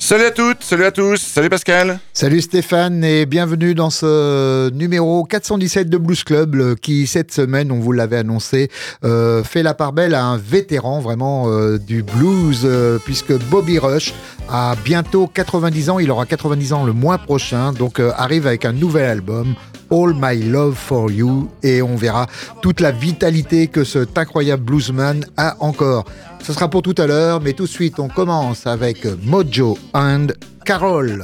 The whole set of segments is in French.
Salut à toutes, salut à tous, salut Pascal. Salut Stéphane et bienvenue dans ce numéro 417 de Blues Club qui cette semaine, on vous l'avait annoncé, fait la part belle à un vétéran vraiment du blues puisque Bobby Rush a bientôt 90 ans, il aura 90 ans le mois prochain, donc arrive avec un nouvel album, All My Love For You, et on verra toute la vitalité que cet incroyable bluesman a encore. Ce sera pour tout à l'heure, mais tout de suite on commence avec Mojo and Carol.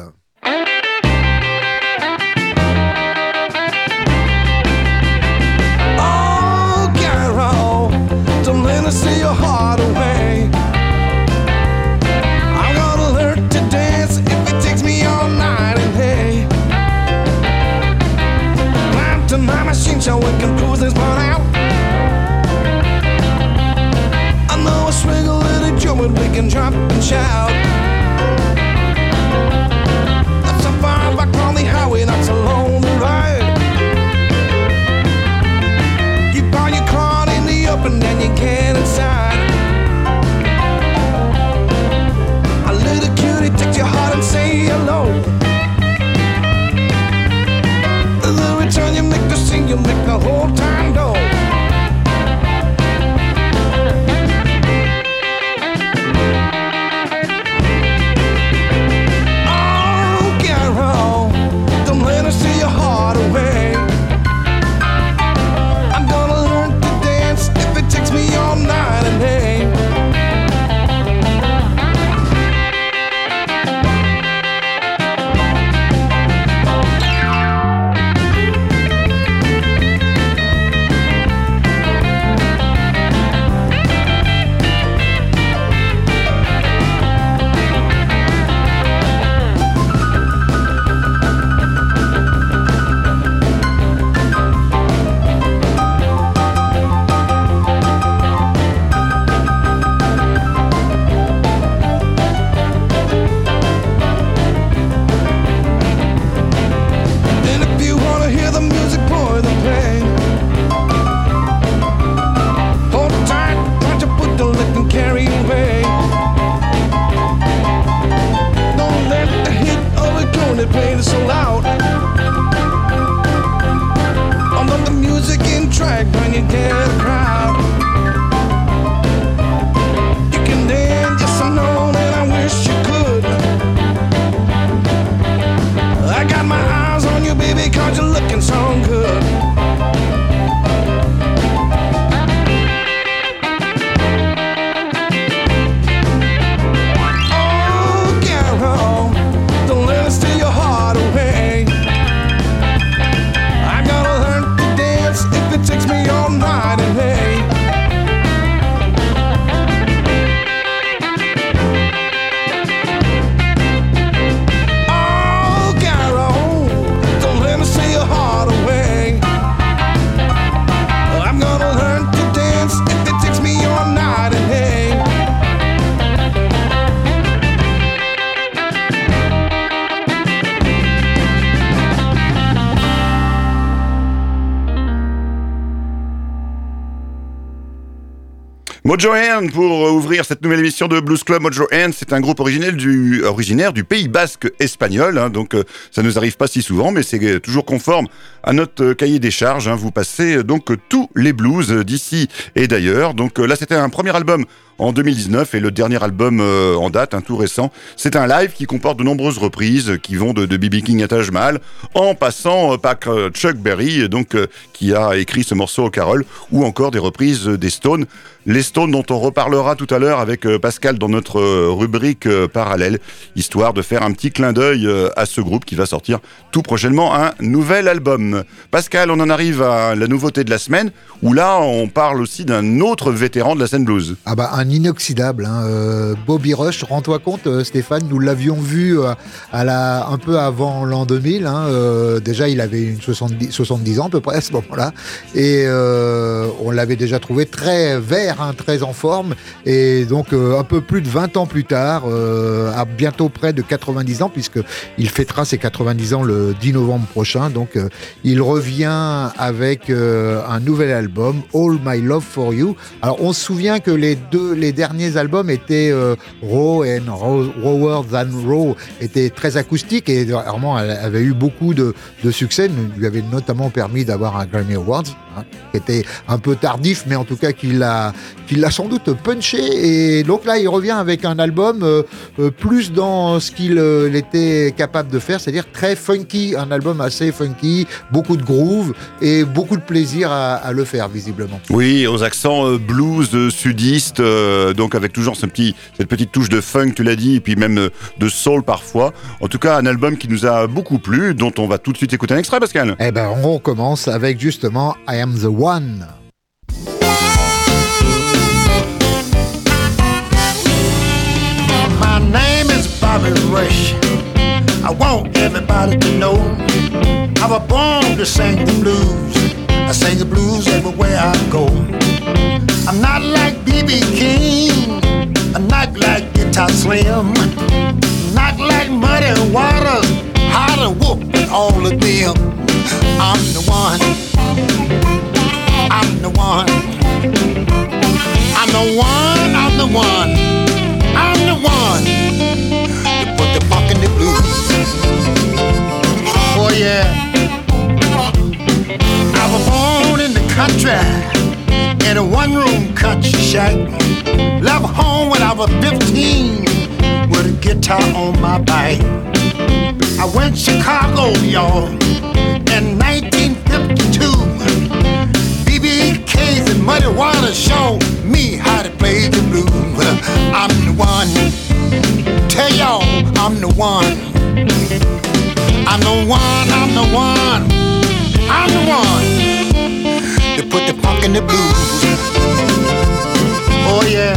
Oh, Carol, don't let us see your heart away. I'm gonna learn to dance if it takes me all night and day. Climb to my machine so we can cruise this part out. I know a swing a little jump and we can drop and shout. That's a far back on the highway, that's a lonely ride. You buy your car in the open and you get inside. A little cutie takes your heart and say hello. The return you make the scene, you make the whole time go. See your heart away. I'm gonna learn to dance if it takes me all night and day. Mojo And pour ouvrir cette nouvelle émission de Blues Club. Mojo And, c'est un groupe originaire du Pays Basque espagnol, donc ça ne nous arrive pas si souvent, mais c'est toujours conforme à notre cahier des charges. Vous passez donc tous les blues d'ici et d'ailleurs. Donc là, c'était un premier album en 2019 et le dernier album en date, tout récent, c'est un live qui comporte de nombreuses reprises qui vont de B.B. King à Taj Mahal en passant par Chuck Berry, donc qui a écrit ce morceau Carol, ou encore des reprises des Stones. Les Stones dont on reparlera tout à l'heure avec Pascal dans notre rubrique parallèle, histoire de faire un petit clin d'œil à ce groupe qui va sortir tout prochainement un nouvel album. Pascal, on en arrive à la nouveauté de la semaine, où là on parle aussi d'un autre vétéran de la scène blues. Ah bah un inoxydable, Bobby Rush, rends-toi compte Stéphane, nous l'avions vu un peu avant l'an 2000, déjà il avait une 70 ans à peu près à ce moment-là, et on l'avait déjà trouvé très vert, très en forme, et donc un peu plus de 20 ans plus tard, à bientôt près de 90 ans, puisqu'il fêtera ses 90 ans le 10 novembre prochain, donc il revient avec un nouvel album, All My Love For You. Alors on se souvient que les deux les derniers albums étaient raw and rawer than raw, étaient très acoustiques et vraiment avait eu beaucoup de succès, lui avait notamment permis d'avoir un Grammy Awards, qui était un peu tardif, mais en tout cas qui l'a sans doute punché. Et donc là, il revient avec un album plus dans ce qu'il était capable de faire, c'est-à-dire très funky, un album assez funky, beaucoup de groove et beaucoup de plaisir à le faire, visiblement. Oui, aux accents blues sudistes, donc avec toujours cette petite touche de funk, tu l'as dit, et puis même de soul parfois. En tout cas, un album qui nous a beaucoup plu, dont on va tout de suite écouter un extrait, Pascal. Eh ben, on recommence avec justement I Am the One. My name is Bobby Rush. I want everybody to know I was born to sing the blues. I sing the blues everywhere I go. I'm not like B.B. King, I'm not like Guitar Slim, not like Muddy Waters, Hot and Whoop and all of them. I'm the one, I'm the one, I'm the one, I'm the one, I'm the one to put the funk in the blues. Oh yeah, I was born in the country, in a one-room country shack. Left home when I was 15 with a guitar on my back. I went to Chicago, y'all, in 1952. B.B. K's and Muddy Waters showed me how to play the blues. I'm the one, tell y'all I'm the one. I'm the one, I'm the one, I'm the one to put the funk in the blues. Oh yeah,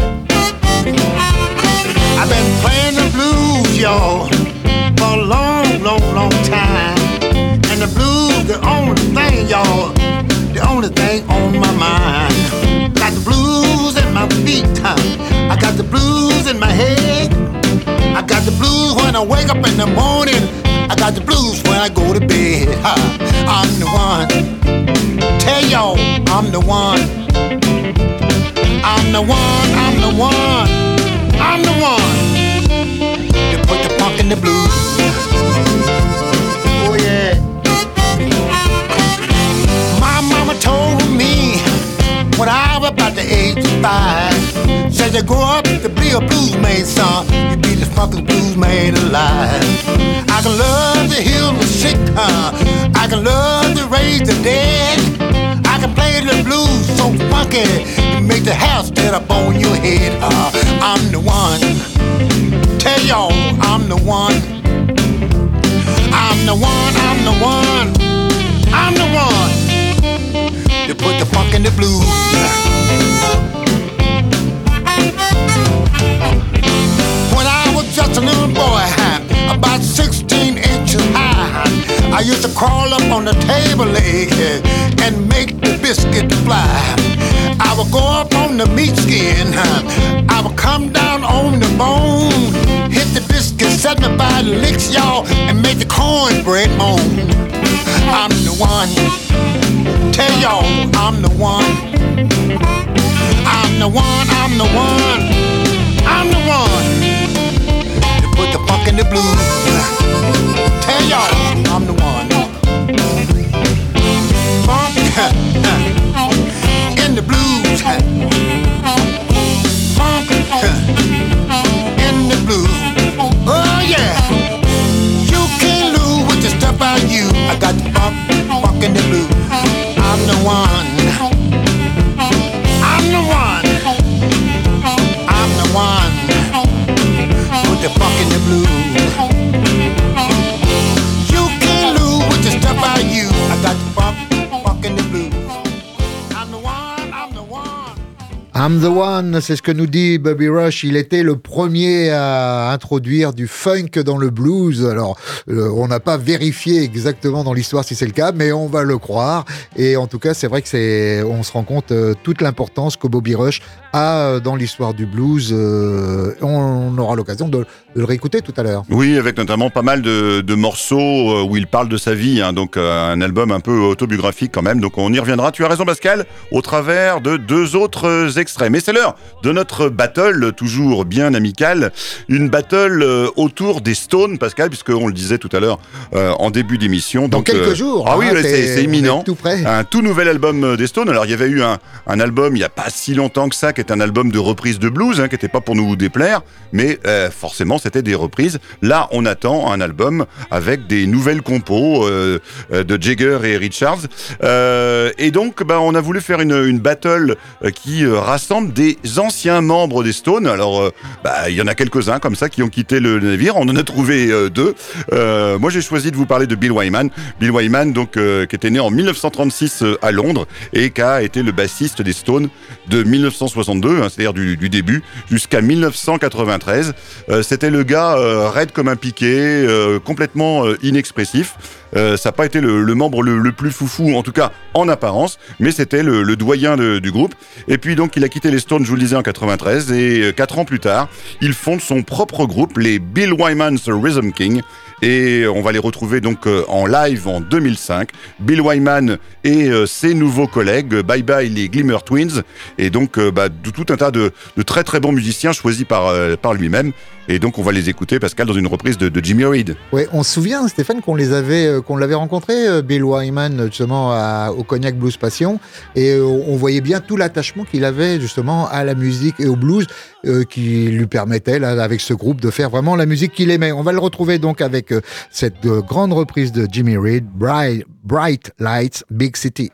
I've been playing the blues, y'all, for a long, long, long time. And the blues, the only thing, y'all, the only thing on my mind. Got the blues in my feet, I got the blues in my head. I got the blues when I wake up in the morning. I got the blues when I go to bed. I'm the one, tell y'all I'm the one. I'm the one, I'm the one, I'm the one to put the funk in the blues. Oh yeah. My mama told me when I was about the age of 5, said you grow up to be a blues man, son, you be the funkiest blues man alive. I can love to heal the sick, I can love to raise the dead. I can play the blues so funky, you make the house stand up on your head. I'm the one, tell y'all I'm the one. I'm the one, I'm the one, I'm the one to put the funk in the blues. When I was just a little boy, about 16 inches high, I used to crawl up on the table leg and make the biscuit fly. I would go up on the meat skin, I would come down on the bone, hit the biscuit 75 licks, y'all, and make the cornbread moan. I'm the one, tell y'all I'm the one. I'm the one, I'm the one, I'm the one to put the funk in the blues. Tell y'all I'm the one. Funk in the blues. Funk in the blues. Oh yeah. You can't lose with the stuff I use. I got the funk in the blues. I'm the one. I'm the one. I'm the one. Put the funk in the blues. You can't lose with the stuff I use. I got the funk in the blues. I'm the one. I'm the one. I'm the one, c'est ce que nous dit Bobby Rush. Il était le premier à introduire du funk dans le blues. Alors, on n'a pas vérifié exactement dans l'histoire si c'est le cas, mais on va le croire. Et en tout cas, c'est vrai que on se rend compte toute l'importance que Bobby Rush a dans l'histoire du blues. On aura l'occasion de le réécouter tout à l'heure. Oui, avec notamment pas mal de morceaux où il parle de sa vie, donc un album un peu autobiographique quand même. Donc on y reviendra. Tu as raison, Pascal, au travers de deux autres extraits extraits. Mais c'est l'heure de notre battle, toujours bien amicale. Une battle autour des Stones, Pascal, puisqu'on le disait tout à l'heure en début d'émission. Dans quelques jours. Ah oui, c'est imminent. Tout près. Un tout nouvel album des Stones. Alors, il y avait eu un album il n'y a pas si longtemps que ça, qui est un album de reprise de blues, qui n'était pas pour nous déplaire, mais forcément, c'était des reprises. Là, on attend un album avec des nouvelles compos de Jagger et Richards. Et donc, on a voulu faire une battle qui rassemble des anciens membres des Stones. Alors, il y en a quelques-uns comme ça qui ont quitté le navire. On en a trouvé deux. Moi, j'ai choisi de vous parler de Bill Wyman. Bill Wyman, donc, qui était né en 1936 à Londres et qui a été le bassiste des Stones de 1962, c'est-à-dire du début, jusqu'à 1993. C'était le gars raide comme un piquet, complètement inexpressif. Ça n'a pas été le membre le plus foufou, en tout cas en apparence, mais c'était le doyen du groupe. Et puis donc il a quitté les Stones, je vous le disais, en 93, et 4 ans plus tard, il fonde son propre groupe, les Bill Wyman's Rhythm King. Et on va les retrouver donc en live en 2005. Bill Wyman et ses nouveaux collègues, Bye Bye les Glimmer Twins, et donc tout un tas de très très bons musiciens choisis par lui-même. Et donc on va les écouter, Pascal, dans une reprise de Jimmy Reed. Oui, on se souvient, Stéphane, qu'on l'avait rencontré, Bill Wyman, justement au Cognac Blues Passion, et on voyait bien tout l'attachement qu'il avait justement à la musique et au blues, qui lui permettait, là, avec ce groupe, de faire vraiment la musique qu'il aimait. On va le retrouver donc avec cette grande reprise de Jimmy Reed, Bright Lights, Big City.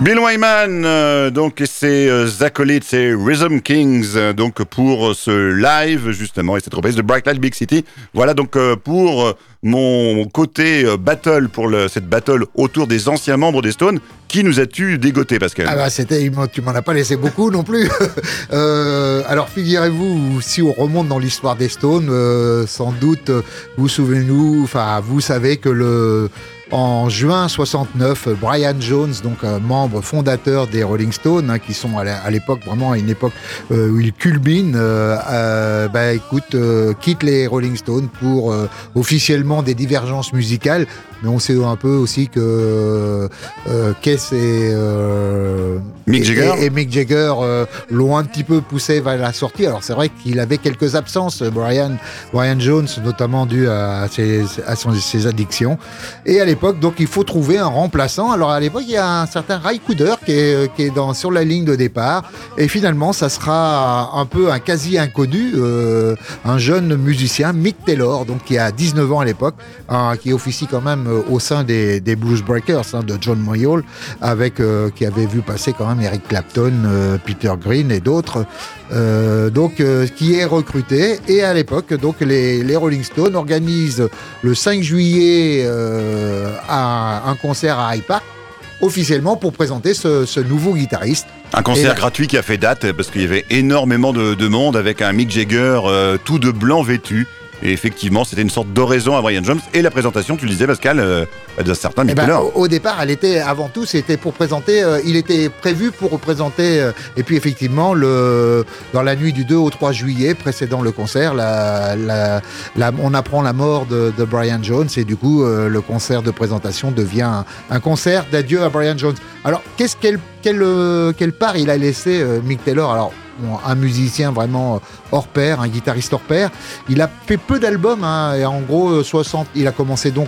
Bill Wyman, donc, et ses acolytes, ses Rhythm Kings, donc, pour ce live, justement, et cette reprise de Bright Light Big City. Voilà, donc, pour mon côté battle, pour cette battle autour des anciens membres des Stones. Qui nous as-tu dégoté, Pascal? Ah bah, tu m'en as pas laissé beaucoup non plus. Alors, figurez-vous, si on remonte dans l'histoire des Stones, sans doute, vous savez que en juin 69, Brian Jones, donc membre fondateur des Rolling Stones, qui sont à l'époque, vraiment à une époque où ils culminent, quitte les Rolling Stones pour officiellement des divergences musicales. Mais on sait un peu aussi que Keith et Mick Jagger l'ont un petit peu poussé vers la sortie. Alors c'est vrai qu'il avait quelques absences, Brian Jones, notamment dû à ses addictions. Et à l'époque, donc il faut trouver un remplaçant. Alors à l'époque, il y a un certain Ry Cooder qui est sur la ligne de départ. Et finalement, ça sera un peu un quasi inconnu, un jeune musicien, Mick Taylor, donc qui a 19 ans à l'époque, qui officie quand même au sein des Blues Breakers, de John Mayall, qui avait vu passer quand même Eric Clapton, Peter Green et d'autres, qui est recruté. Et à l'époque, donc les Rolling Stones organisent le 5 juillet un concert à Hyde Park, officiellement pour présenter ce nouveau guitariste. Un concert gratuit qui a fait date parce qu'il y avait énormément de monde avec un Mick Jagger tout de blanc vêtu. Et effectivement, c'était une sorte d'oraison à Brian Jones. Et la présentation, tu le disais, Pascal, d'un certain Mick Taylor. Au départ, c'était pour présenter, il était prévu pour représenter, et puis effectivement, dans la nuit du 2 au 3 juillet, précédant le concert, on apprend la mort de Brian Jones, et du coup, le concert de présentation devient un concert d'adieu à Brian Jones. Alors, quelle part il a laissé Mick Taylor? Alors, un musicien vraiment hors pair, un guitariste hors pair. Il a fait peu d'albums, et en gros, il a commencé donc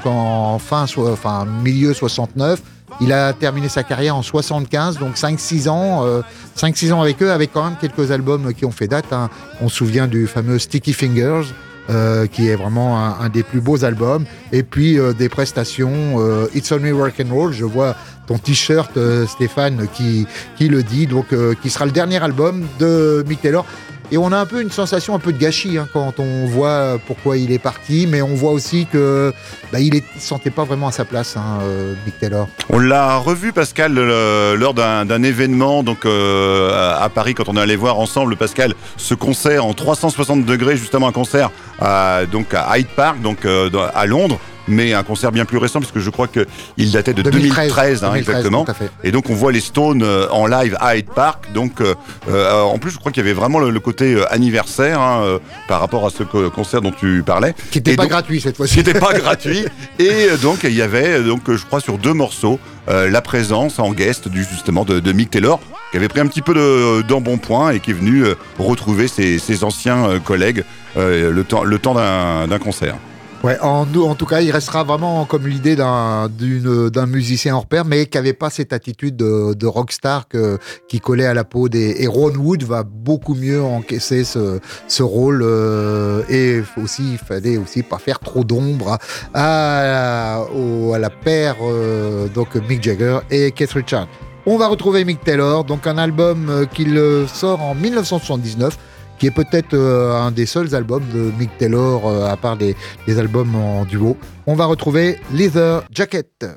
milieu 69. Il a terminé sa carrière en 75, donc 5-6 ans avec eux, avec quand même quelques albums qui ont fait date. On se souvient du fameux Sticky Fingers, qui est vraiment un des plus beaux albums, et puis des prestations, It's Only Rock and Roll, je vois ton t-shirt, Stéphane, qui le dit, donc qui sera le dernier album de Mick Taylor. Et on a un peu une sensation un peu de gâchis quand on voit pourquoi il est parti, mais on voit aussi que il ne sentait pas vraiment à sa place, Mick Taylor. On l'a revu, Pascal, lors d'un événement donc à Paris, quand on est allé voir ensemble, Pascal, ce concert en 360 degrés, justement un concert à Hyde Park, donc à Londres. Mais un concert bien plus récent, puisque je crois qu'il datait de 2013 exactement. Tout à fait. Et donc on voit les Stones en live à Hyde Park. Donc en plus, je crois qu'il y avait vraiment le côté anniversaire par rapport à ce concert dont tu parlais. Qui n'était pas gratuit cette fois-ci. Qui n'était pas gratuit. Et donc il y avait, je crois, sur 2 morceaux, la présence en guest de Mick Taylor, qui avait pris un petit peu d'embonpoint et qui est venu retrouver ses anciens collègues le temps d'un concert. Ouais, en tout cas, il restera vraiment comme l'idée d'un musicien hors pair, mais qui n'avait pas cette attitude de rockstar qui collait à la peau et Ron Wood va beaucoup mieux encaisser ce rôle, et il fallait aussi pas faire trop d'ombre à la paire, donc Mick Jagger et Keith Richards. On va retrouver Mick Taylor, donc un album qu'il sort en 1979, qui est peut-être un des seuls albums de Mick Taylor, à part des albums en duo. On va retrouver Leather Jacket.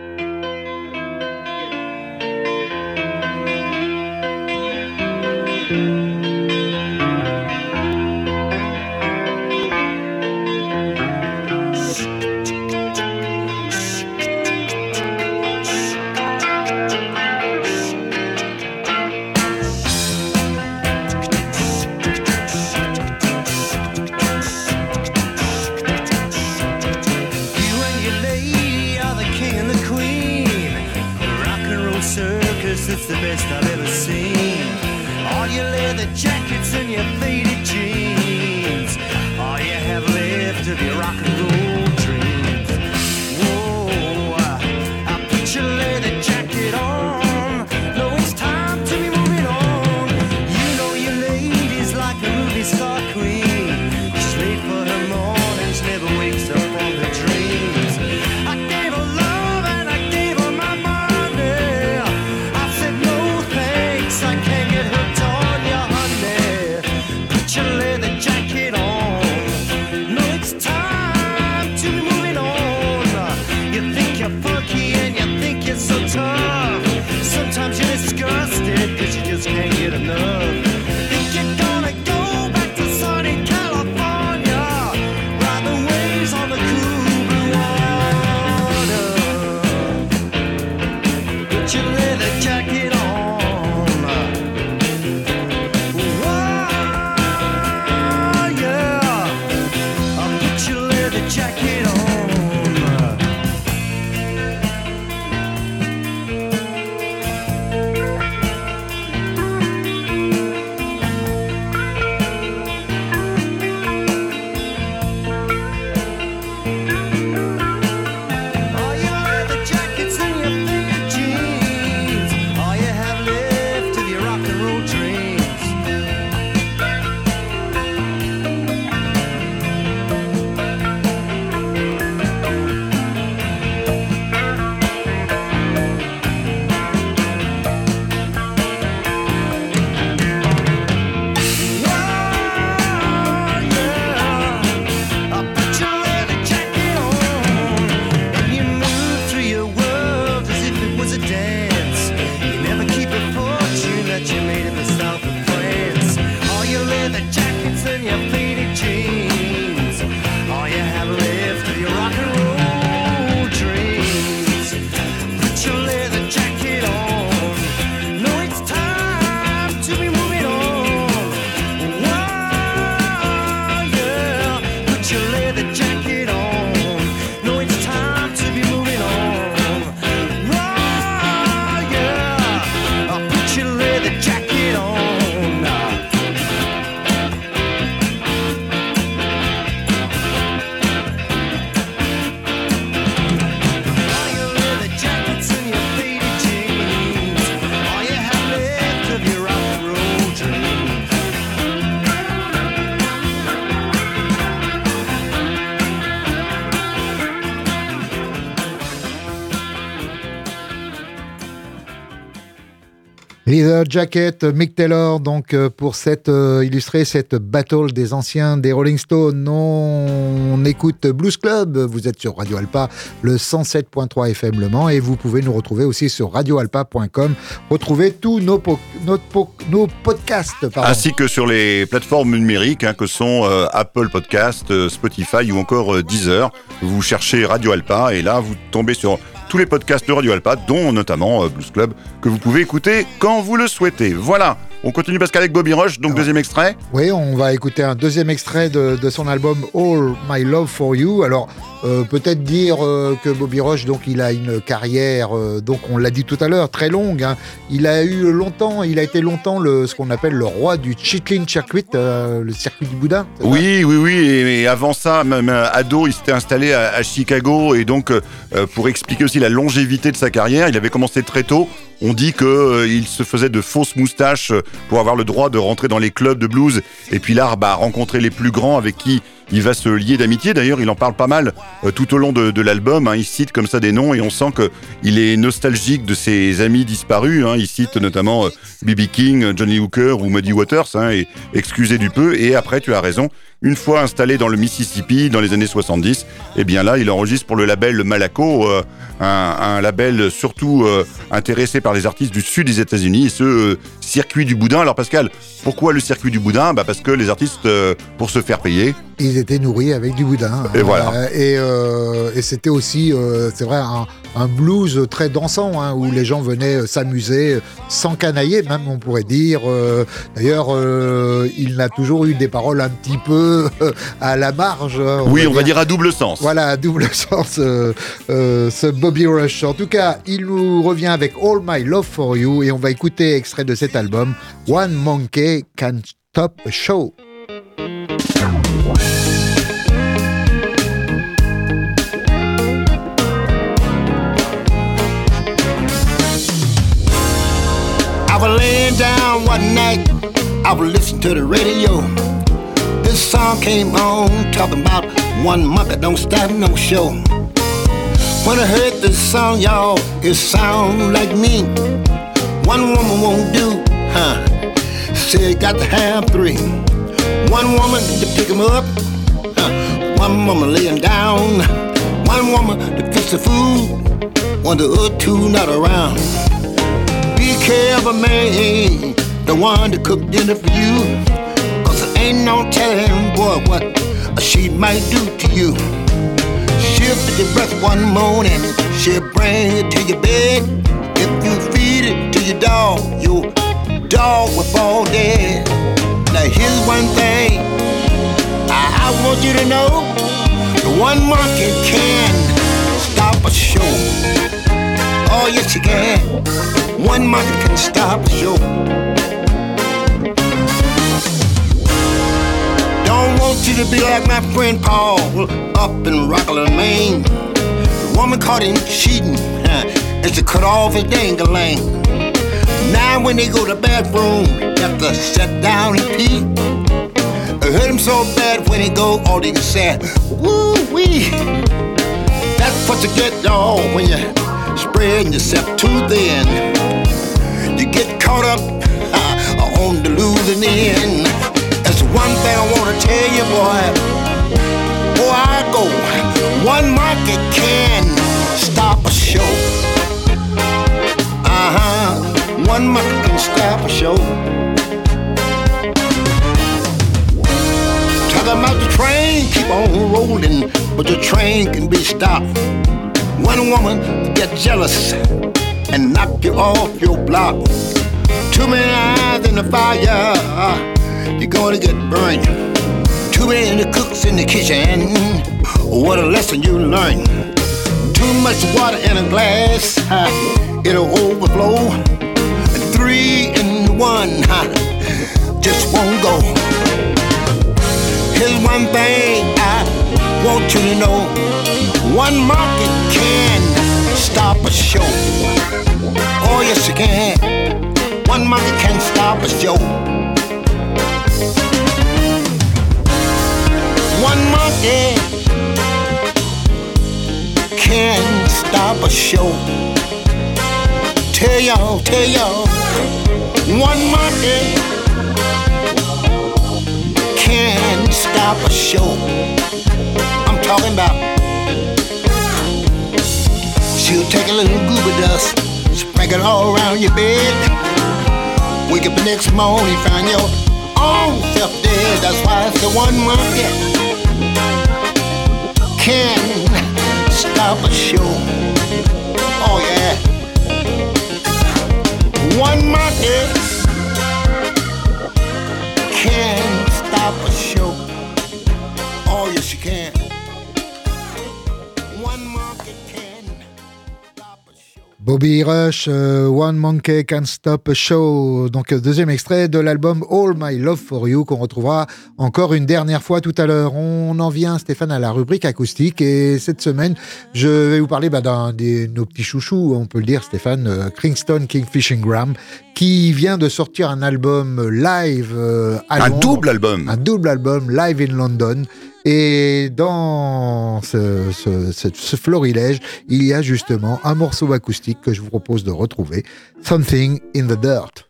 It's the best I've ever seen. All your leather jackets and your faded jeans, all you have left of your rock and roll dreams. Whoa, I put your leather jacket on. No, it's time to be moving on. You know your lady's like a movie star queen. She's late for her mornings, never wakes up from her dreams. I gave her love and I gave her my money. I Leather Jacket, Mick Taylor, donc pour illustrer cette battle des anciens des Rolling Stones. On écoute Blues Club, vous êtes sur Radio Alpa, le 107.3 FM Le Mans, et vous pouvez nous retrouver aussi sur radioalpa.com, retrouver tous nos podcasts. Ainsi que sur les plateformes numériques que sont Apple Podcast, Spotify ou encore Deezer. Vous cherchez Radio Alpa et là vous tombez sur tous les podcasts de Radio Alpa, dont notamment Blues Club, que vous pouvez écouter quand vous le souhaitez. Voilà, on continue Pascal avec Bobby Rush, donc deuxième extrait. Oui, on va écouter un deuxième extrait de son album All My Love For You. Alors, peut-être dire que Bobby Rush, donc il a une carrière, donc on l'a dit tout à l'heure, très longue. Il a été longtemps ce qu'on appelle le roi du Chitlin Circuit, le circuit du boudin. Oui, et avant ça, même ado, il s'était installé à Chicago, et donc pour expliquer aussi la longévité de sa carrière, il avait commencé très tôt. On dit qu'il se faisait de fausses moustaches pour avoir le droit de rentrer dans les clubs de blues, et puis là, rencontrer les plus grands avec qui il va se lier d'amitié. D'ailleurs, il en parle pas mal tout au long de l'album. Il cite comme ça des noms et on sent qu'il est nostalgique de ses amis disparus. Il cite notamment B.B. King, Johnny Hooker ou Muddy Waters, et excusez du peu. Et après, tu as raison, une fois installé dans le Mississippi dans les années 70, eh bien là, il enregistre pour le label Malaco, un label surtout intéressé par les artistes du sud des États-Unis, et ce circuit du boudin. Alors Pascal, pourquoi le circuit du boudin ? Parce que les artistes, pour se faire payer, ils étaient nourris avec du boudin. Et voilà. Et c'était aussi, c'est vrai, un blues très dansant, où les gens venaient s'amuser, s'encanailler même, on pourrait dire. D'ailleurs, il a toujours eu des paroles un petit peu à la marge. On va dire à double sens. Voilà, à double sens, ce Bobby Rush. En tout cas, il nous revient avec All My Love For You, et on va écouter extrait de cet album, One Monkey Can Stop a Show. I was laying down one night, I was listening to the radio. This song came on, talking about one monkey don't stop no show. When I heard this song, y'all, it sound like me. One woman won't do, said got to have three. One woman to pick him up, one woman lay him down. One woman to fix the food, when the other two not around. Be careful, man, the one to cook dinner for you, 'cause there ain't no telling, boy, what she might do to you. She'll pick your breath one morning, she'll bring it to your bed. If you feed it to your dog will fall dead. Now here's one thing I want you to know, the one monkey can stop a show. Oh yes you can, one monkey can stop a show. Don't want you to be like my friend Paul up in Rockland, Maine. The woman caught him cheating, and she cut off his dang-a-lang. Now when they go to the bathroom, they have to sit down and pee. It hurt him so bad when they go, all they can say, woo-wee. That's what you get, y'all, when you spreading yourself too thin. You get caught up on the losing end. That's one thing I want to tell you, boy. Before I go, one monkey can stop a show. One monkey can stop a show. Talking about the train, keep on rolling, but the train can be stopped. One woman get jealous and knock you off your block. Too many eyes in the fire, you're gonna get burned. Too many cooks in the kitchen, what a lesson you learn. Too much water in a glass, it'll overflow. 3 in 1, just won't go. Here's one thing I want you to know, one monkey can stop a show. Oh yes you can, one monkey can stop a show. One monkey can stop a show. tell y'all, one monkey can't stop a show. I'm talking about she'll take a little goober dust, sprinkle it all around your bed. Wake up the next morning, find your own self dead. That's why it's the one monkey can't stop a show. Oh yeah. One monkey can't stop a show. Oh yes you can. One monkey can stop a show. Bobby Rush, One Monkey Can't Stop a Show. Donc deuxième extrait de l'album All My Love for You qu'on retrouvera encore une dernière fois tout à l'heure. On en vient, Stéphane, à la rubrique acoustique et cette semaine, je vais vous parler d'un de nos petits chouchous, on peut le dire, Stéphane, Kingston Kingfish Ingram, qui vient de sortir un album live à Londres. Un double album live in London. Et dans ce florilège, il y a justement un morceau acoustique que je vous propose de retrouver, Something in the Dirt.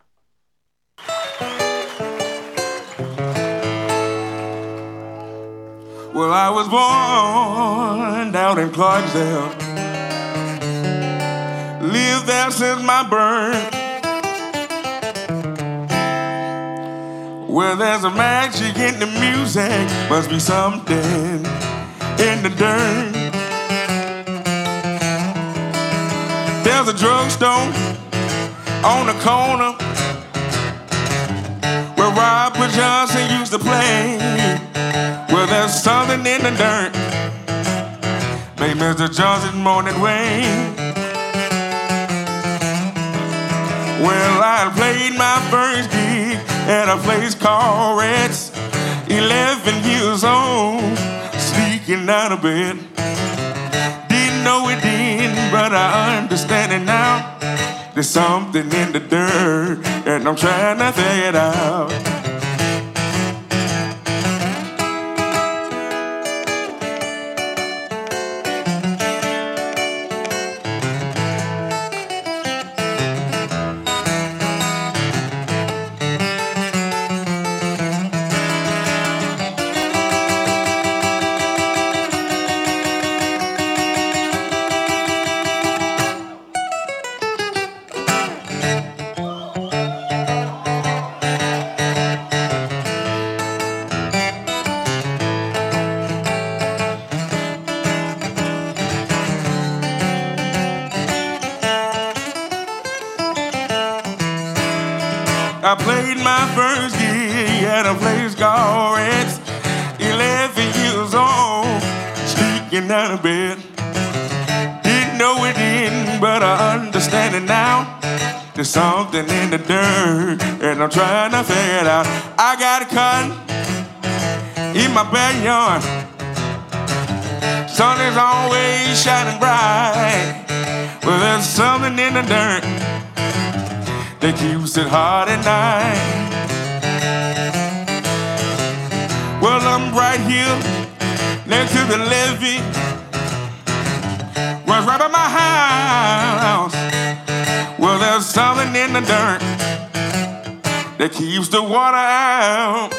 Well, I was born down in Clarksdale, lived there since my birth. Where there's a magic in the music, must be something in the dirt. There's a drugstore on the corner where Robert Johnson used to play. Well, there's something in the dirt, made Mr. Johnson's morning way. Well, I played my first gig at a place called Reds, 11 years old, sneaking out of bed. Didn't know it then, but I understand it now. There's something in the dirt, and I'm trying to figure it out. I played my first gig at a place called Reds, 11 years old, sneaking out of bed. Didn't know it then, but I understand it now. There's something in the dirt, and I'm trying to figure it out. I got a cotton in my backyard. Sun is always shining bright. Well, there's something in the dirt that keeps it hot at night. Well, I'm right here next to the levee, was right by my house. Well, there's something in the dirt that keeps the water out.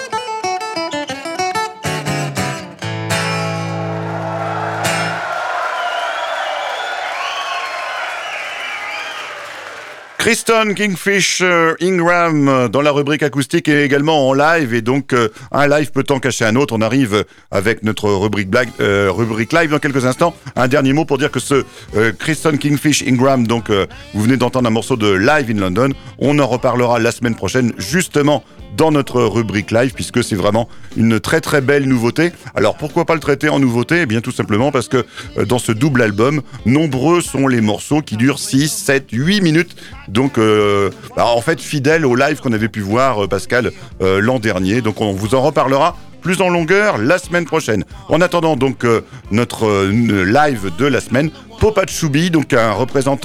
Kingston Kingfish Ingram dans la rubrique acoustique et également en live. Et donc, un live peut en cacher un autre. On arrive avec notre rubrique live dans quelques instants. Un dernier mot pour dire que ce Kingston Kingfish Ingram, donc vous venez d'entendre un morceau de Live in London. On en reparlera la semaine prochaine, justement dans notre rubrique live, puisque c'est vraiment une très très belle nouveauté. Alors pourquoi pas le traiter en nouveauté ? Eh bien tout simplement parce que dans ce double album, nombreux sont les morceaux qui durent 6, 7, 8 minutes. Donc en fait fidèle au live qu'on avait pu voir, Pascal, l'an dernier. Donc on vous en reparlera plus en longueur la semaine prochaine. En attendant donc notre live de la semaine, Popa Chubby, donc un représentant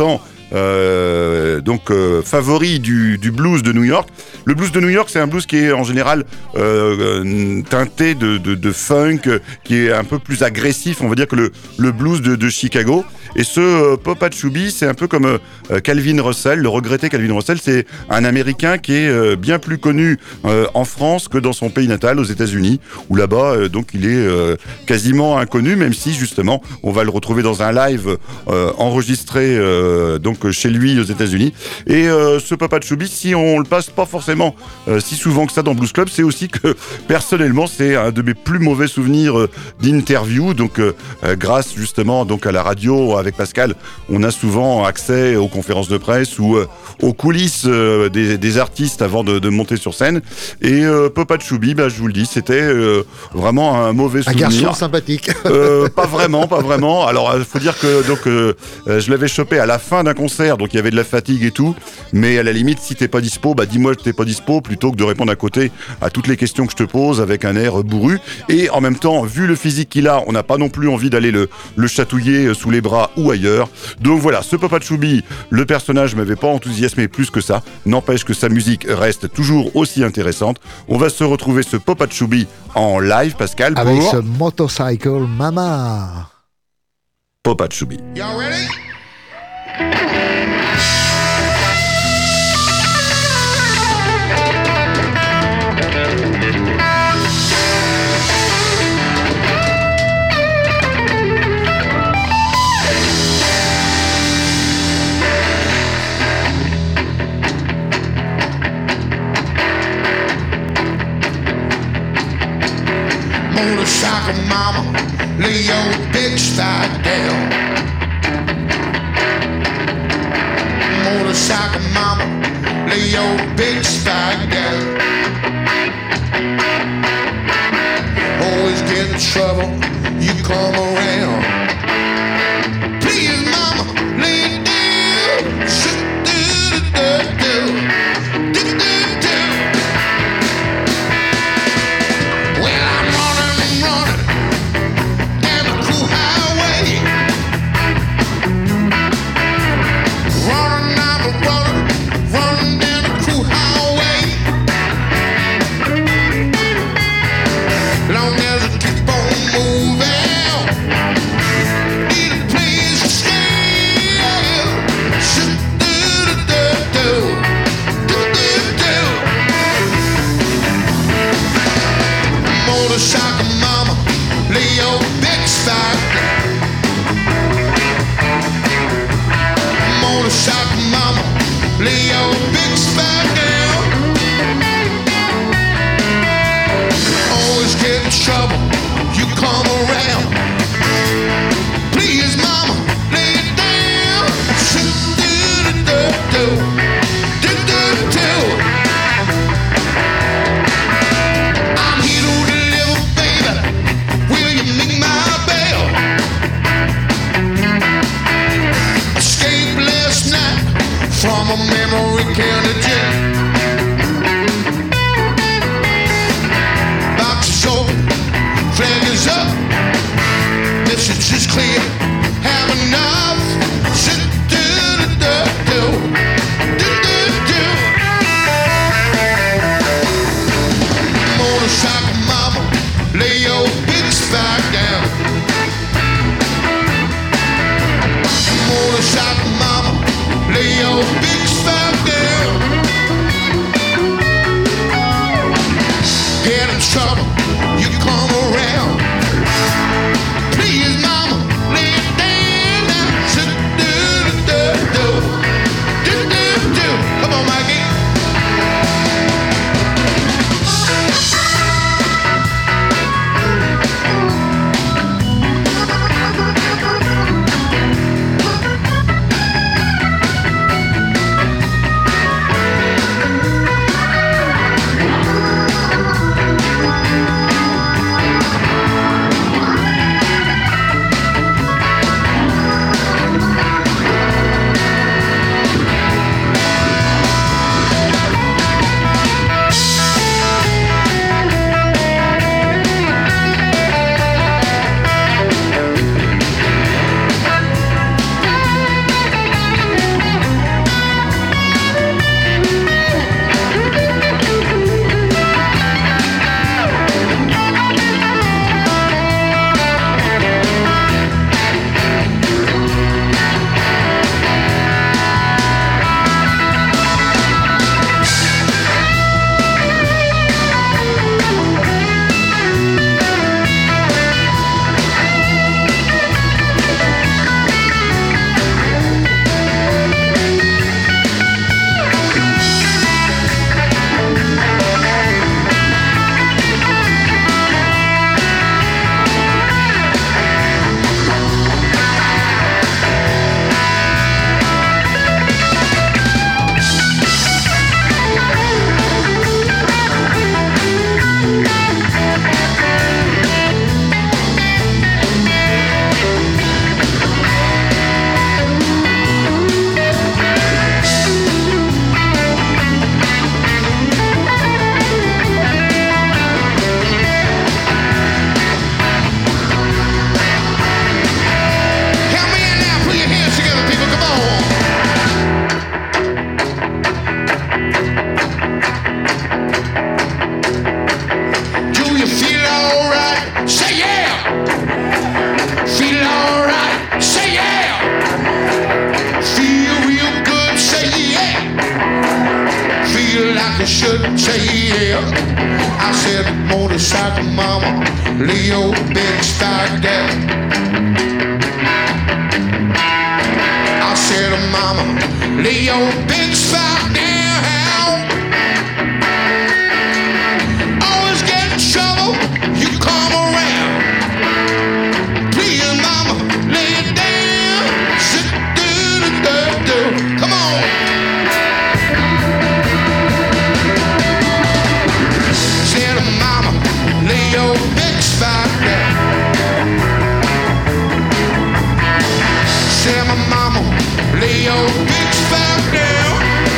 favori du blues de New York. Le blues de New York, c'est un blues qui est en général teinté de funk, qui est un peu plus agressif, on va dire, que le blues de Chicago. Et ce Popa Chubby, c'est un peu comme Calvin Russell, le regretté Calvin Russell. C'est un Américain qui est bien plus connu en France que dans son pays natal, aux États-Unis, où là-bas, donc, il est quasiment inconnu, même si justement, on va le retrouver dans un live enregistré donc chez lui aux États-Unis. Et ce Popa Chubby, si on le passe pas forcément si souvent que ça dans Blues Club, c'est aussi que personnellement, c'est un de mes plus mauvais souvenirs d'interview. Donc, grâce justement donc à la radio avec Pascal, on a souvent accès aux conférences de presse ou aux coulisses des artistes avant de monter sur scène. Et Popa Chubby, je vous le dis, c'était vraiment un mauvais souvenir. Un garçon sympathique. Pas vraiment. Alors, il faut dire que donc je l'avais chopé à la fin d'un concert, donc il y avait de la fatigue et tout. Mais à la limite, si t'es pas dispo, dis-moi que t'es pas dispo, plutôt que de répondre à côté à toutes les questions que je te pose avec un air bourru. Et en même temps, vu le physique qu'il a, on n'a pas non plus envie d'aller le chatouiller sous les bras ou ailleurs. Donc voilà, ce Popa Chubby, le personnage m'avait pas enthousiasmé plus que ça. N'empêche que sa musique reste toujours aussi intéressante. On va se retrouver ce Popa Chubby en live, Pascal, pour avec ce Motorcycle Mama. Popa Chubby. Y'all ready? Motorcycle mama, lay your bitch side down. Motorcycle mama, lay your bitch side down. Always get in trouble, you come around. Please mama, lay it down. Do-do-do-do-do. is. I said, motorcycle mama, lay your big stock down. I said, mama, lay your big stock down. Always get in trouble, you come around. Please, mama, lay it down. Sit, do. Come on. Said, mama, lay your big stock down. Said, my mama, lay your big stock down.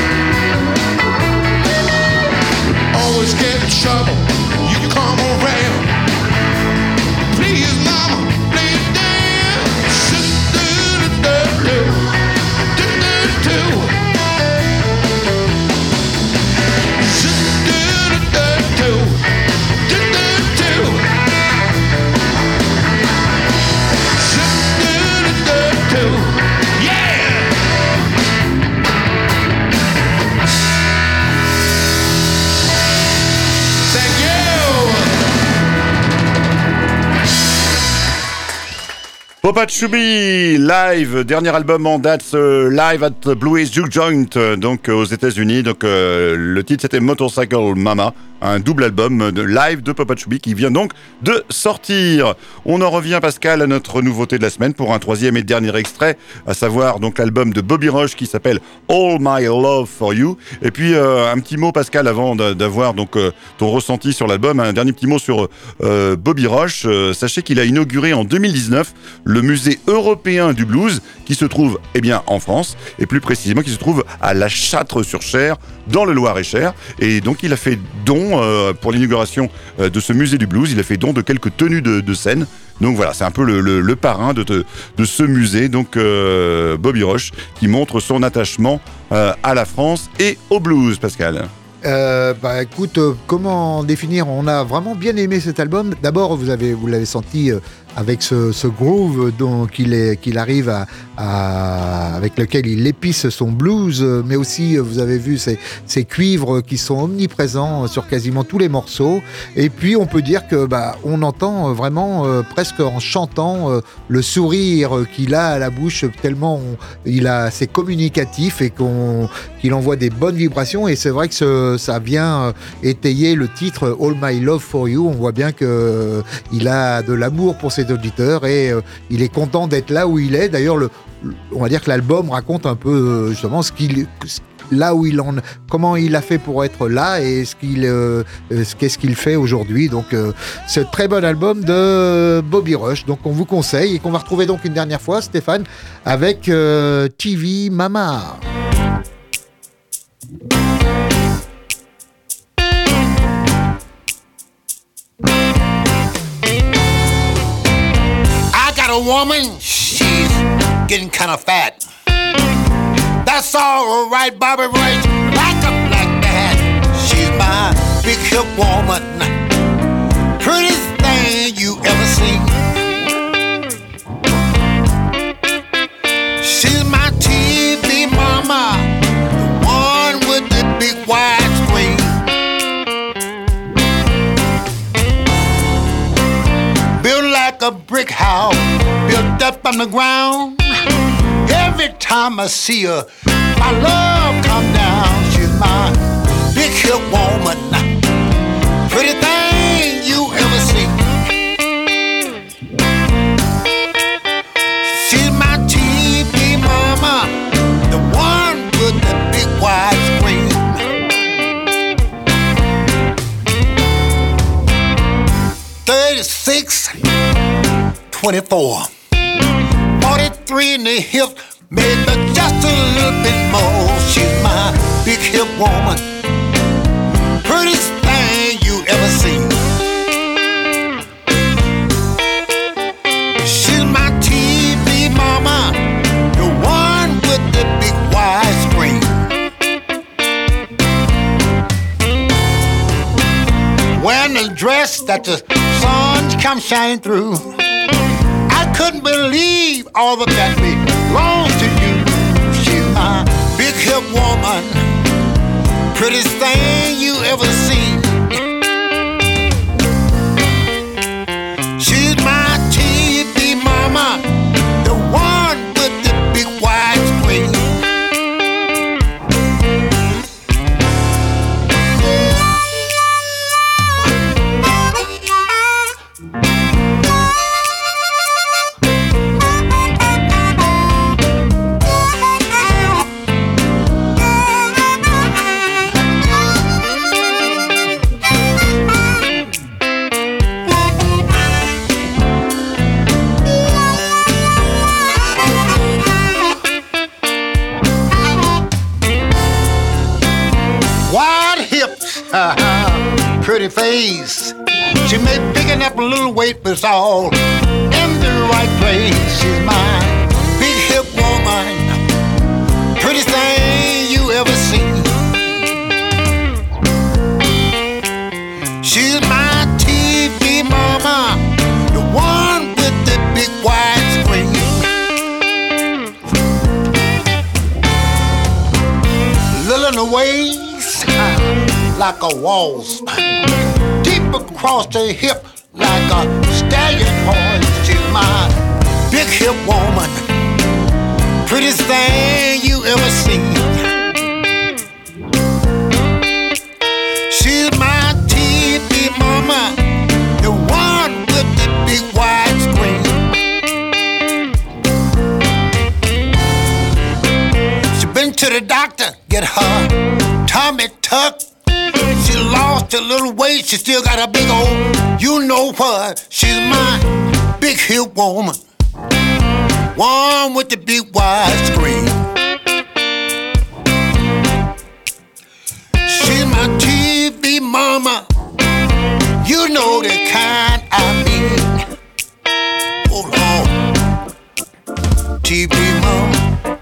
Always get in trouble, you come around. Please, mama, lay it down. Sit, do. Papa Chubby, live, dernier album en date, live at Blues Juke Joint, donc aux États-Unis. Donc le titre c'était Motorcycle Mama, un double album de live de Papa Chubby qui vient donc de sortir. On en revient, Pascal, à notre nouveauté de la semaine pour un troisième et dernier extrait, à savoir donc l'album de Bobby Rush qui s'appelle All My Love For You. Et puis un petit mot, Pascal, avant d'avoir donc ton ressenti sur l'album, un dernier petit mot sur Bobby Rush. Sachez qu'il a inauguré en 2019 le musée européen du blues qui se trouve en France et plus précisément qui se trouve à La Châtre-sur-Cher dans le Loir-et-Cher, et donc il a fait don pour l'inauguration de ce musée du blues, il a fait don de quelques tenues de scène. Donc voilà, c'est un peu le parrain de ce musée, donc Bobby Rush, qui montre son attachement à la France et au blues, Pascal. Écoute, comment définir? On a vraiment bien aimé cet album. D'abord, vous l'avez senti avec ce groove qu'il arrive avec lequel il épice son blues, mais aussi vous avez vu ces cuivres qui sont omniprésents sur quasiment tous les morceaux. Et puis on peut dire que on entend vraiment presque en chantant le sourire qu'il a à la bouche, tellement c'est communicatif et qu'il envoie des bonnes vibrations. Et c'est vrai que ça vient étayer le titre All My Love For You. On voit bien que il a de l'amour pour ses auditeurs et il est content d'être là où il est. D'ailleurs, on va dire que l'album raconte un peu justement comment il a fait pour être là et qu'est-ce qu'il fait aujourd'hui. Donc c'est un très bon album de Bobby Rush, donc on vous conseille, et qu'on va retrouver donc une dernière fois, Stéphane, avec TV Mama. A woman, she's getting kind of fat. That's all right, Bobby Rush, like a black that. She's my big hip woman, prettiest thing you ever seen. She's my TV mama, the one with the big wide screen. Built like a brick house, built up on the ground. Every time I see her, my love come down. She's my big hip woman, pretty thing you ever see. She's my TV mama, the one with the big wide screen. 36, 24, 43 in the hip, maybe just a little bit more. She's my big hip woman, prettiest thing you ever seen. She's my TV mama, the one with the big wide screen. Wearing a dress that the sun come shining through. I couldn't believe all of that belongs to you. She's my big hip woman, prettiest thing you ever seen. pretty face. She may picking up a little weight, but it's all in the right place. She's my big hip woman, prettiest thing you ever seen. She's my TV mama, the one with the big wide screen. Little in the waist, like a waltz, deep across the hip, like a stallion horse. She's my big hip woman, prettiest thing you ever seen. She's my TV mama, the one with the big wide screen. She been to the doctor, get her tummy tucked. She lost a little weight, she still got a big old, you know what? She's my big hip woman, one with the big wide screen. She's my TV mama, you know the kind I mean. Oh Lord, TV mama.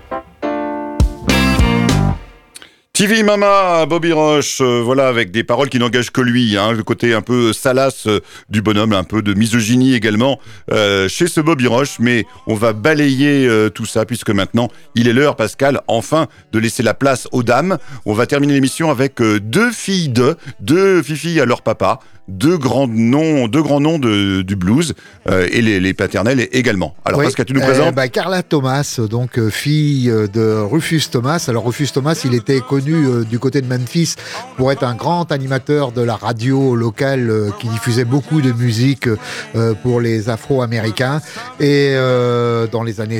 TV Mama, Bobby Roche, voilà, avec des paroles qui n'engagent que lui, hein, le côté un peu salace du bonhomme, un peu de misogynie également chez ce Bobby Roche, mais on va balayer tout ça, puisque maintenant, il est l'heure, Pascal, enfin, de laisser la place aux dames. On va terminer l'émission avec deux filles à leur papa, deux grands noms du blues, et les paternels également. Alors, oui, Pascal, tu nous présentes Carla Thomas, donc fille de Rufus Thomas. Alors, Rufus Thomas, il était connu du côté de Memphis pour être un grand animateur de la radio locale qui diffusait beaucoup de musique pour les Afro-Américains. Et dans les années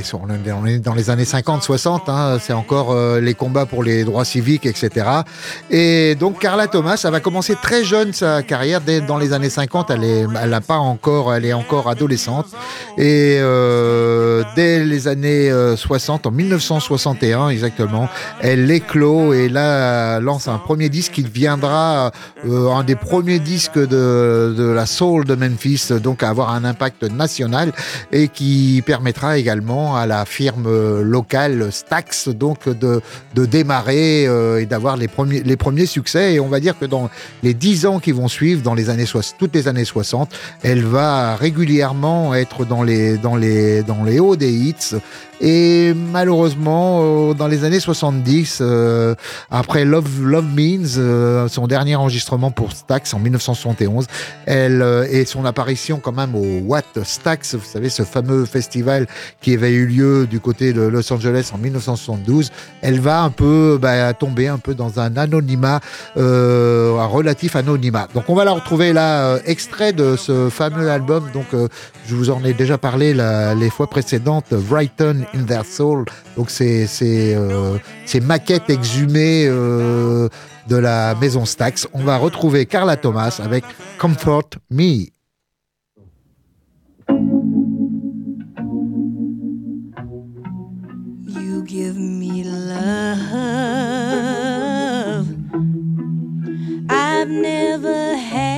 50-60, hein, c'est encore les combats pour les droits civiques, etc. Et donc, Carla Thomas, elle va commencer très jeune sa carrière. Dans les années 50, elle est encore adolescente. Et dès les années 60, en 1961 exactement, elle éclot et là lance un premier disque qui deviendra un des premiers disques de la soul de Memphis, donc à avoir un impact national et qui permettra également à la firme locale Stax donc de démarrer et d'avoir les premiers succès. Et on va dire que dans les 10 ans qui vont suivre, toutes les années 60, elle va régulièrement être dans les hauts des hits. Et malheureusement, dans les années 70, après Love Means, son dernier enregistrement pour Stax en 1971, et son apparition quand même au What Stax, vous savez, ce fameux festival qui avait eu lieu du côté de Los Angeles en 1972, elle va tomber un peu dans un anonymat, un relatif anonymat. Donc on va la retrouver là, extrait de ce fameux album, donc je vous en ai déjà parlé les fois précédentes, Brighton in Their Soul, donc c'est maquettes exhumées de la maison Stax. On va retrouver Carla Thomas avec Comfort Me. You give me love I've never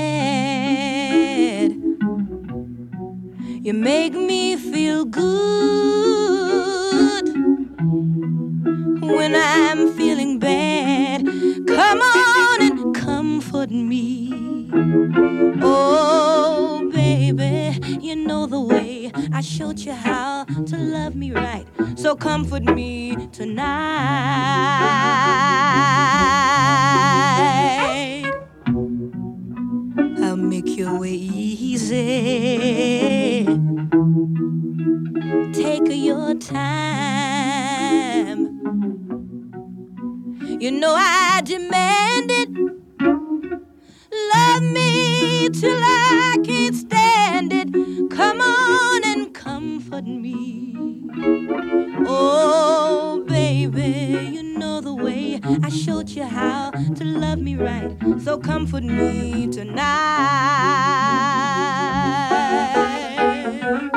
had. You make me feel good when I'm feeling bad. Come on and comfort me. Oh, baby, you know the way I showed you how to love me right. So comfort me tonight. I'll make your way easy. Take your time. You know I demand it. Love me till I can't stand it. Come on and comfort me. Oh, baby, you know the way I showed you how to love me right. So comfort me tonight.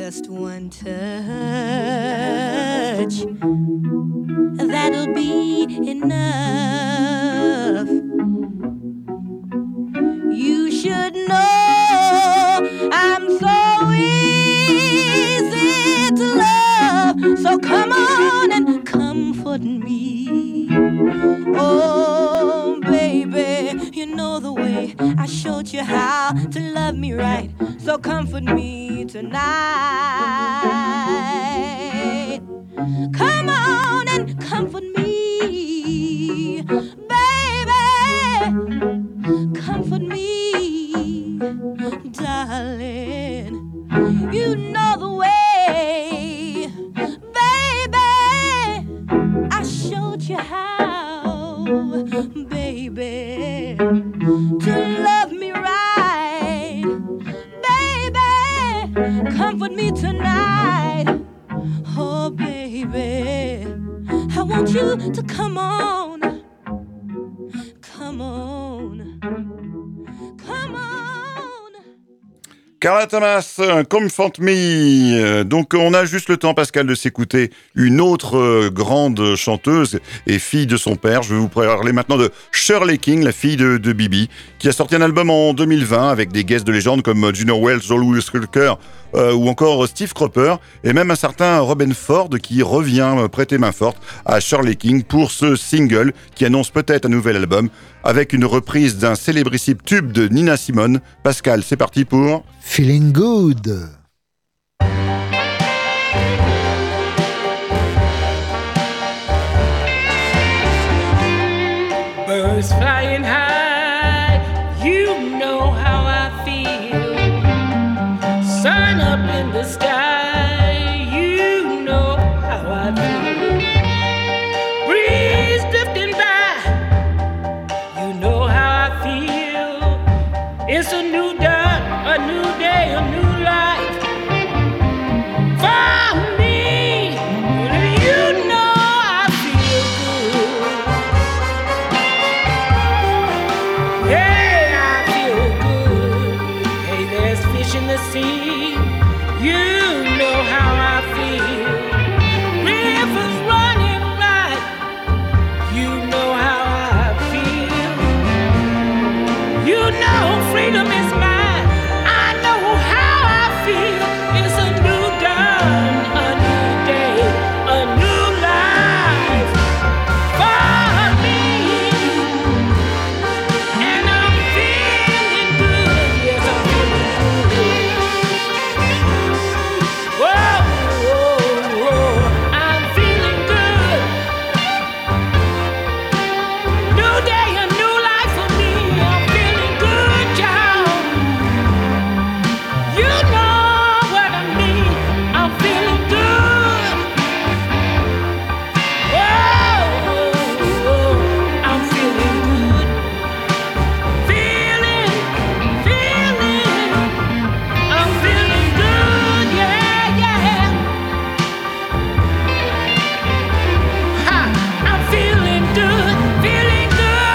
just one touch, that'll be enough. You should know I'm so easy to love, so come on and comfort me. Oh, baby, you know the way I showed you how to love me right, so comfort me tonight. Come on and comfort me, baby. Comfort me, darling. You know the way, baby. I showed you how, baby, to love me right, baby. Comfort me tonight, oh baby. I want you to come on, come on, come on. Carla Thomas, Comfort Me. Donc on a juste le temps, Pascal, de s'écouter une autre grande chanteuse et fille de son père. Je vais vous parler maintenant de Shirley King, la fille de Bibi, qui a sorti un album en 2020 avec des guests de légende comme Junior Wells, Joel Wilker ou encore Steve Cropper, et même un certain Robin Ford qui revient prêter main forte à Shirley King pour ce single qui annonce peut-être un nouvel album avec une reprise d'un célébrissime tube de Nina Simone. Pascal, c'est parti pour Feeling Good. Birds flying high, you know how I feel. Sun up in the sky, you know how I feel. Breeze drifting by, you know how I feel. It's a new dawn, a new day, a new life for me. You know I feel good. Yeah, I feel good. Hey, there's fish in the sea. You know how I feel. Rivers running right. You know how I feel. You know freedom is mine. I know how I feel. It's a new dawn, a new day, a new life for me. And I'm feeling good. Yes, I'm feeling good. Whoa, whoa, whoa. I'm feeling good. New day, a new life for me. I'm feeling good, y'all. You know what I mean. I'm feeling good. Whoa, whoa, I'm feeling good. Feeling, I'm feeling good, yeah, yeah. Ha, I'm feeling good, feeling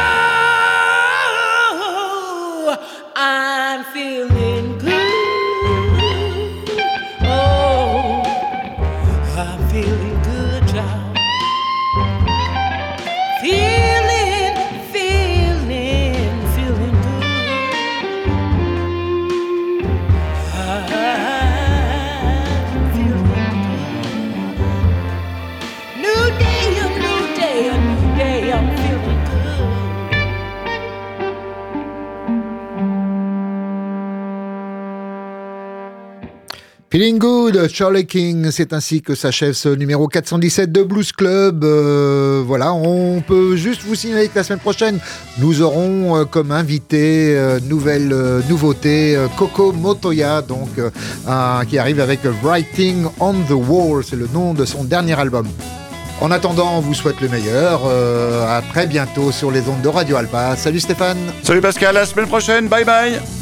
good. I'm feeling good. Oh, I'm feeling good, y'all. Feeling, feeling good. I'm feeling good. New day, a new day, a new day. I'm feeling good. Feeling Good, Shirley King, c'est ainsi que s'achève ce numéro 417 de Blues Club. Voilà, on peut juste vous signaler que la semaine prochaine, nous aurons comme invité nouvelle nouveauté Coco Motoya, donc qui arrive avec Writing on the Wall, c'est le nom de son dernier album. En attendant, on vous souhaite le meilleur. À très bientôt sur les ondes de Radio Alpa. Salut Stéphane. Salut Pascal, à la semaine prochaine, bye bye.